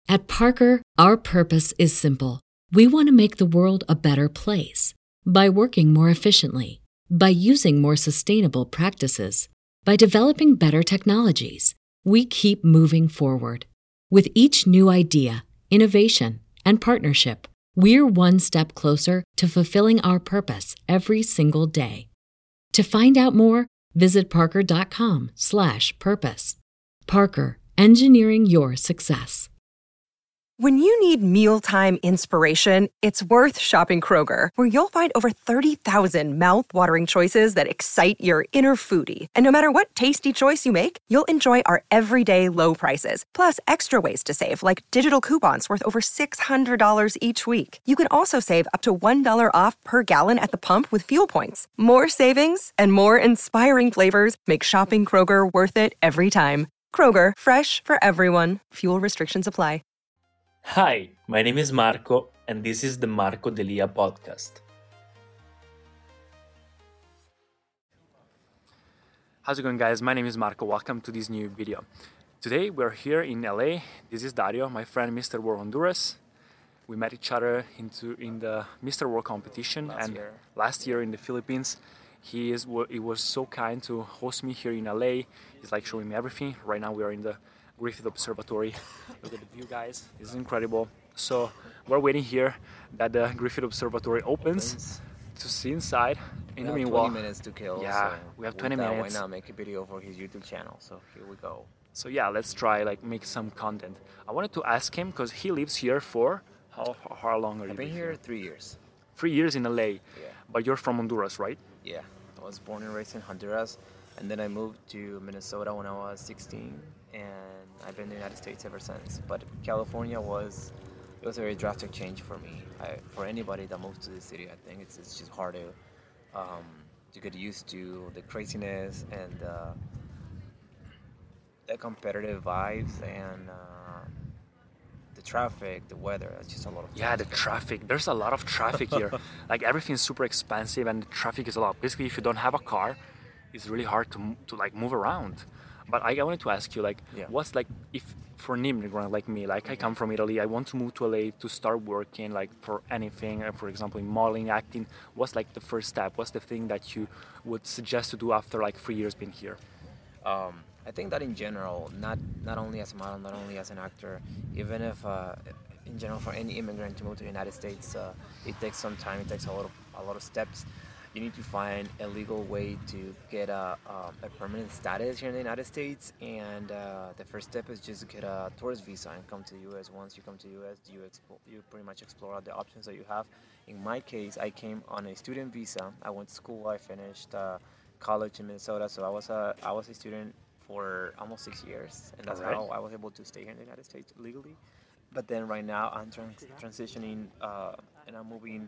At Parker, our purpose is simple. We want to make the world a better place by working more efficiently, by using more sustainable practices, by developing better technologies. We keep moving forward. With each new idea, innovation, and partnership, we're one step closer to fulfilling our purpose every single day. To find out more, visit parker.com/purpose. Parker, engineering your success. When you need mealtime inspiration, it's worth shopping Kroger, where you'll find over 30,000 mouth-watering choices that excite your inner foodie. And no matter what tasty choice you make, you'll enjoy our everyday low prices, plus extra ways to save, like digital coupons worth over $600 each week. You can also save up to $1 off per gallon at the pump with fuel points. More savings and more inspiring flavors make shopping Kroger worth it every time. Kroger, fresh for everyone. Fuel restrictions apply. Hi, my name is Marco, and this is the Marco Delia podcast. How's it going, guys? My name is Marco. Welcome to this new video. Today we're here in LA. This is Dario, my friend Mr. World Honduras. We met each other in the Mr. World competition last year in the Philippines. He was so kind to host me here in LA. He's like showing me everything. Right now we are in the Griffith Observatory. Look at the view, guys. This is incredible. So we're waiting here that the Griffith Observatory opens to see inside. In the meanwhile, 20 minutes to kill. Yeah, so we have 20 minutes. Why not make a video for his YouTube channel? So here we go. So yeah, let's try make some content. I wanted to ask him because he lives here for how long are you? I've been here 3 years. 3 years in LA. Yeah. But you're from Honduras, right? Yeah. I was born and raised in Honduras, and then I moved to Minnesota when I was 16, and I've been in the United States ever since. But California was a very drastic change for me. For anybody that moves to the city, I think it's just hard to get used to the craziness and the competitive vibes and the traffic, the weather. It's just a lot of the traffic. There's a lot of traffic here. Like everything's super expensive and the traffic is a lot. Basically, if you don't have a car, it's really hard to move around. But I wanted to ask you, what's if for an immigrant like me, I come from Italy, I want to move to LA to start working, for anything, for example, in modeling, acting. What's the first step? What's the thing that you would suggest to do after 3 years being here? I think that in general, not only as a model, not only as an actor, even if in general for any immigrant to move to the United States, it takes some time. It takes a lot of steps. You need to find a legal way to get a permanent status here in the United States, and the first step is just to get a tourist visa and come to the U.S. Once you come to the U.S., you pretty much explore all the options that you have. In my case, I came on a student visa. I went to school. I finished college in Minnesota, so I was a student for almost 6 years, and that's how I was able to stay here in the United States legally. But then right now I'm transitioning and I'm moving.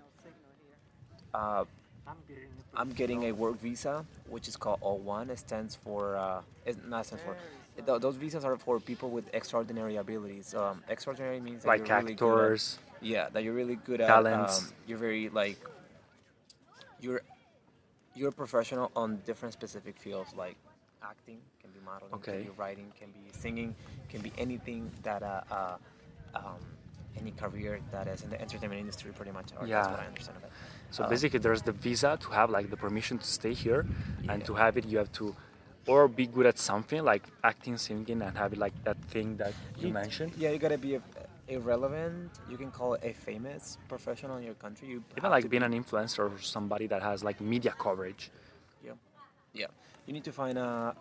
I'm getting a work visa, which is called O1. It stands for, those visas are for people with extraordinary abilities. Extraordinary means that like you're really actors. That you're really good at. Talents. You're very you're a professional on different specific fields, like acting, can be modeling, can be writing, can be singing, can be anything that any career that is in the entertainment industry, pretty much. That's what I understand of it. So basically, there's the visa to have the permission to stay here, and to have it, you have to or be good at something like acting, singing, and have it that thing that you mentioned. Yeah, you gotta be irrelevant. You can call it a famous professional in your country. Even being an influencer or somebody that has media coverage. Yeah. You need to find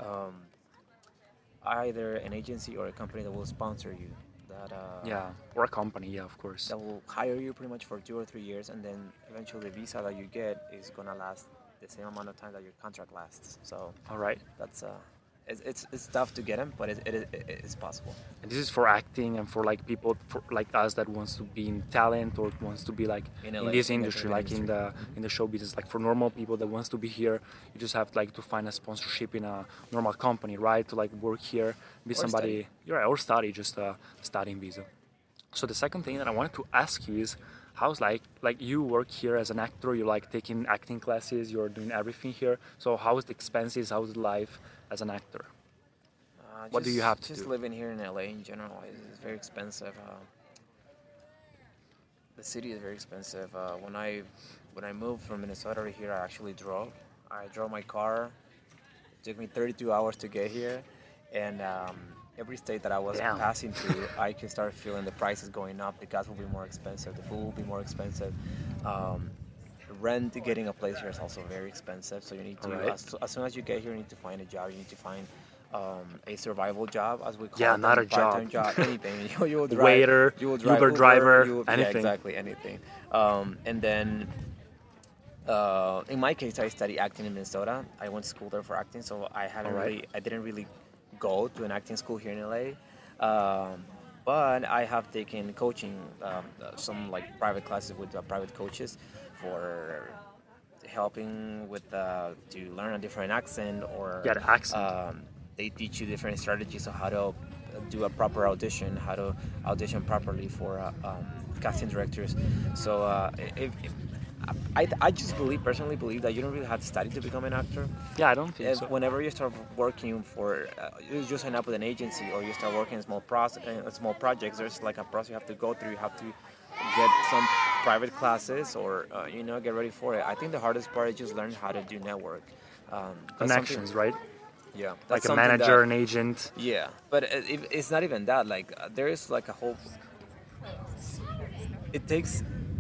either an agency or a company that will sponsor you. Or a company, of course. That will hire you pretty much for 2 or 3 years, and then eventually the visa that you get is gonna last the same amount of time that your contract lasts. So, all right, that's it's tough to get them, but it's possible. And this is for acting and for people like us that wants to be in talent or wants to be in this industry, in the show business. For normal people that wants to be here, you just have to find a sponsorship in a normal company, right? To work here, be somebody, or study, just a studying visa. So the second thing that I wanted to ask you is, how's you work here as an actor? You're taking acting classes. You're doing everything here. So how is the expenses? How is life as an actor? What do you have to just do? living here in LA in general is very expensive. The city is very expensive. When I moved from Minnesota to here, I actually drove. I drove my car. It took me 32 hours to get here, and every state that I was Damn. passing through, I can start feeling the prices going up. The gas will be more expensive. The food will be more expensive. Rent, getting a place here is also very expensive. So you need to, Right. as soon as you get here, you need to find a job. You need to find a survival job, as we call Yeah, it. not a part-time job. anything. You will drive, Waiter, you will drive Uber driver, yeah, anything. exactly, anything. And then, in my case, I studied acting in Minnesota. I went to school there for acting, so I didn't really go to an acting school here in LA. But I have taken coaching, some like private classes with private coaches for helping with to learn a different accent or Yeah, the accent. they teach you different strategies of how to do a proper audition, how to audition properly for casting directors. So I just personally believe that you don't really have to study to become an actor. Yeah, I don't think so. Whenever you start working for, you just sign up with an agency or you start working in small projects, there's like a process you have to go through. You have to get some private classes or, get ready for it. I think the hardest part is just learning how to do network. Connections, right? Yeah. Like a something manager, that- an agent. Yeah, but it's not even that. Like there is like a whole. It takes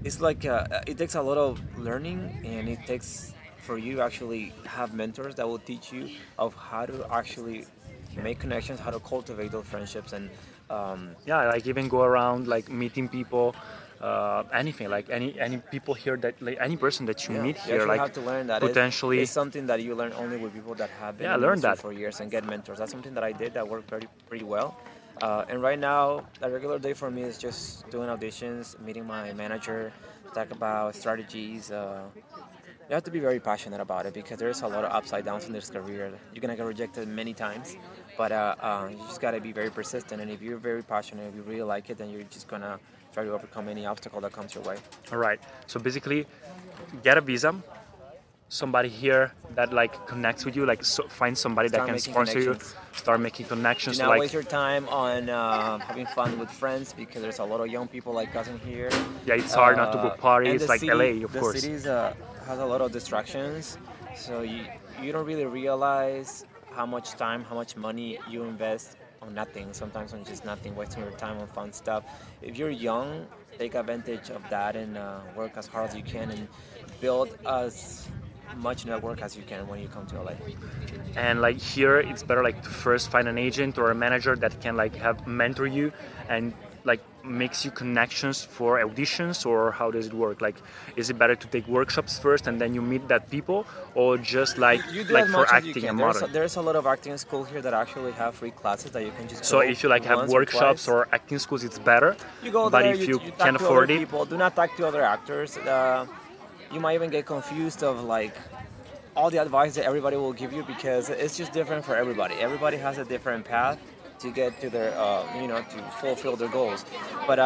a lot of learning, and it takes for you actually have mentors that will teach you of how to actually make connections, how to cultivate those friendships, and Yeah, like even go around like meeting people, anything, like any people here that like any person that you meet you here, actually like have to learn that potentially. it's something that you learn only with people that have been Yeah, in learn the industry that. for years and get mentors. That's something that I did that worked pretty well. And right now, a regular day for me is just doing auditions, meeting my manager, talk about strategies. You have to be very passionate about it because there's a lot of upside downs in this career. You're gonna get rejected many times, but you just gotta be very persistent. And if you're very passionate, if you really like it, then you're just gonna try to overcome any obstacle that comes your way. All right. So basically, get a visa. Somebody here that like connects with you, like find somebody that Start can making sponsor you. connections. Start making connections. Do So not like, waste your time on having fun with friends because there's a lot of young people like us in here. yeah, it's hard not to book And parties the like city, LA, of the course. city has a lot of distractions, so you don't really realize how much time, how much money you invest on nothing. Sometimes on just nothing, wasting your time on fun stuff. If you're young, take advantage of that and work as hard as you can and build as much network as you can when you come to LA. And like here, it's better like to first find an agent or a manager that can like have mentor you and like makes you connections for auditions, or how does it work? Like, is it better to take workshops first and then you meet that people, or just like You do like as for much as you acting can. and There's modern? there's a lot of acting schools here that actually have free classes that you can just So go if you like have once workshops twice. or acting schools, it's better. You go but there, if you talk can't to afford other it, people. Do not talk to other actors. You might even get confused of like all the advice that everybody will give you because it's just different for everybody. Everybody has a different path to get to their, to fulfill their goals. But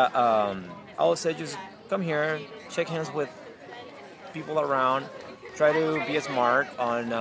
I would say just come here, shake hands with people around, try to be smart on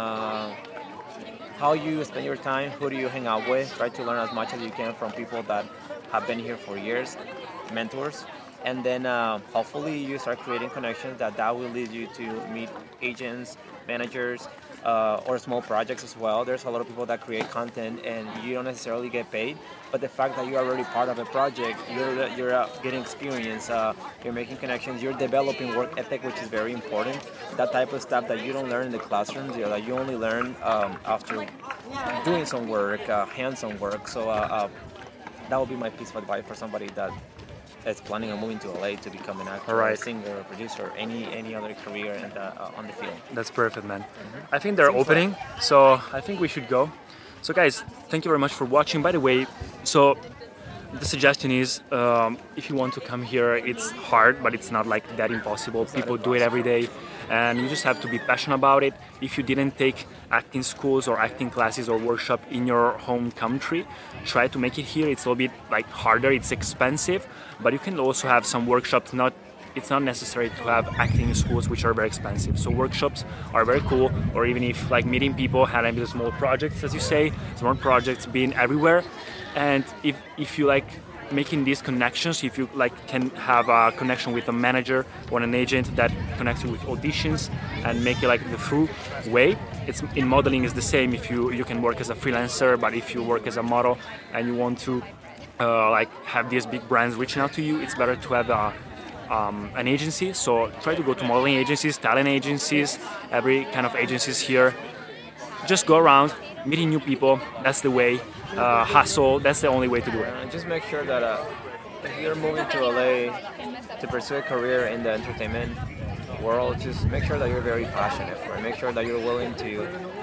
how you spend your time, who do you hang out with, try to learn as much as you can from people that have been here for years, mentors, and then hopefully you start creating connections that will lead you to meet agents, managers, or small projects as well. There's a lot of people that create content and you don't necessarily get paid, but the fact that you're already part of a project, you're getting experience, you're making connections, you're developing work ethic, which is very important. That type of stuff that you don't learn in the classrooms, that you only learn after doing some work, hands-on work. So that would be my piece of advice for somebody that is planning on moving to LA to become an actor, Alright. a singer, a producer, any other career on the field. that's perfect, man. I think they're opening, so I think we should go. So guys, thank you very much for watching. By the way, so the suggestion is if you want to come here, it's hard, but it's not like that impossible. People do it every day, and you just have to be passionate about it. If you didn't take acting schools or acting classes or workshop in your home country, try to make it here. It's a little bit like harder, it's expensive, but you can also have some workshops, not it's not necessary to have acting schools, which are very expensive. So workshops are very cool, or even if like meeting people, having small projects, as you say, small projects being everywhere. And if you like making these connections, if you like can have a connection with a manager or an agent that connects you with auditions and make it like the through way. It's in modeling is the same. If you can work as a freelancer, but if you work as a model and you want to like have these big brands reaching out to you, it's better to have an agency. So try to go to modeling agencies, talent agencies, every kind of agencies here. Just go around, meeting new people. That's the way. Hustle. That's the only way to do it. Just make sure that if you're moving to LA to pursue a career in the entertainment world, just make sure that you're very passionate for it. Make sure that you're willing to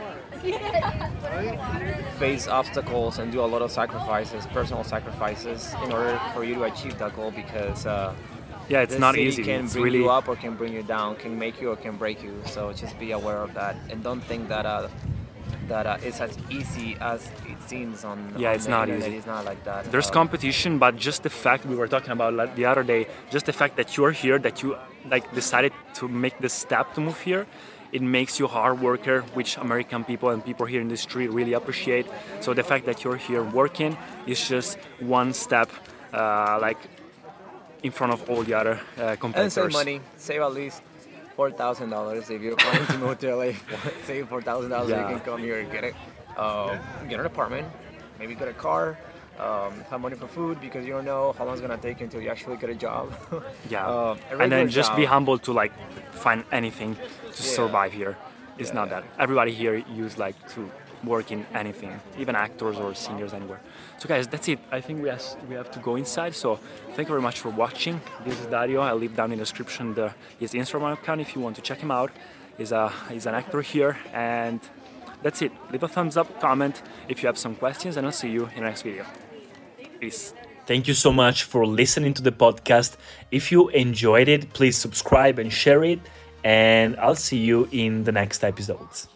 face obstacles and do a lot of sacrifices, personal sacrifices, in order for you to achieve that goal. Because it's not easy. Can it's bring really you up or can bring you down, can make you or can break you. So just be aware of that, and don't think that it's as easy as it seems on it's the not internet. easy. It's not like that. There's competition, but just the fact we were talking about the other day, just the fact that you're here, that you like decided to make the step to move here, it makes you a hard worker, which American people and people here in the street really appreciate. So the fact that you're here working is just one step like in front of all the other competitors. And save money. Save at least $4,000 if you're planning to move to LA. Save $4,000. You can come here and get an apartment, maybe get a car, have money for food, because you don't know how long it's gonna take until you actually get a job. And then just be humble to like find anything to survive here. It's not that everybody here used like to work in anything, even actors or singers anywhere. So guys, that's it. I think we have to go inside. So thank you very much for watching. This is Dario. I'll leave down in the description his Instagram account if you want to check him out. He's an actor here, and that's it. Leave a thumbs up, comment if you have some questions, and I'll see you in the next video. Peace. Thank you so much for listening to the podcast. If you enjoyed it, please subscribe and share it, and I'll see you in the next episodes.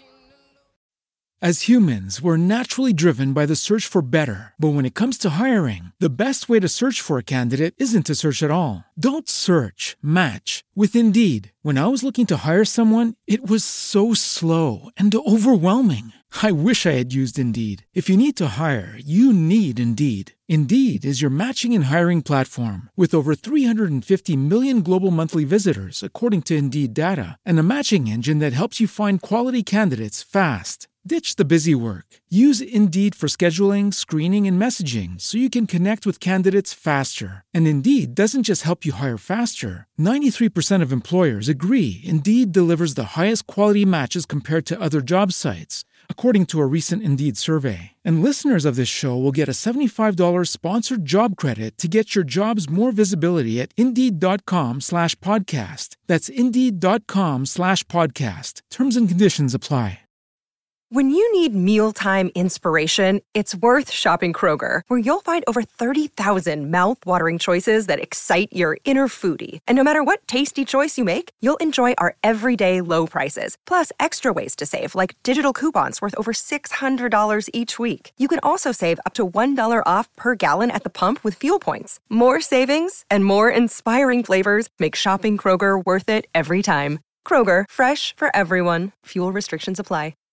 As humans, we're naturally driven by the search for better. But when it comes to hiring, the best way to search for a candidate isn't to search at all. Don't search, match with Indeed. When I was looking to hire someone, it was so slow and overwhelming. I wish I had used Indeed. If you need to hire, you need Indeed. Indeed is your matching and hiring platform with over 350 million global monthly visitors, according to Indeed data, and a matching engine that helps you find quality candidates fast. Ditch the busy work. Use Indeed for scheduling, screening, and messaging so you can connect with candidates faster. And Indeed doesn't just help you hire faster. 93% of employers agree Indeed delivers the highest quality matches compared to other job sites, according to a recent Indeed survey. And listeners of this show will get a $75 sponsored job credit to get your jobs more visibility at Indeed.com/podcast. That's Indeed.com/podcast. Terms and conditions apply. When you need mealtime inspiration, it's worth shopping Kroger, where you'll find over 30,000 mouth-watering choices that excite your inner foodie. And no matter what tasty choice you make, you'll enjoy our everyday low prices, plus extra ways to save, like digital coupons worth over $600 each week. You can also save up to $1 off per gallon at the pump with fuel points. More savings and more inspiring flavors make shopping Kroger worth it every time. Kroger, fresh for everyone. Fuel restrictions apply.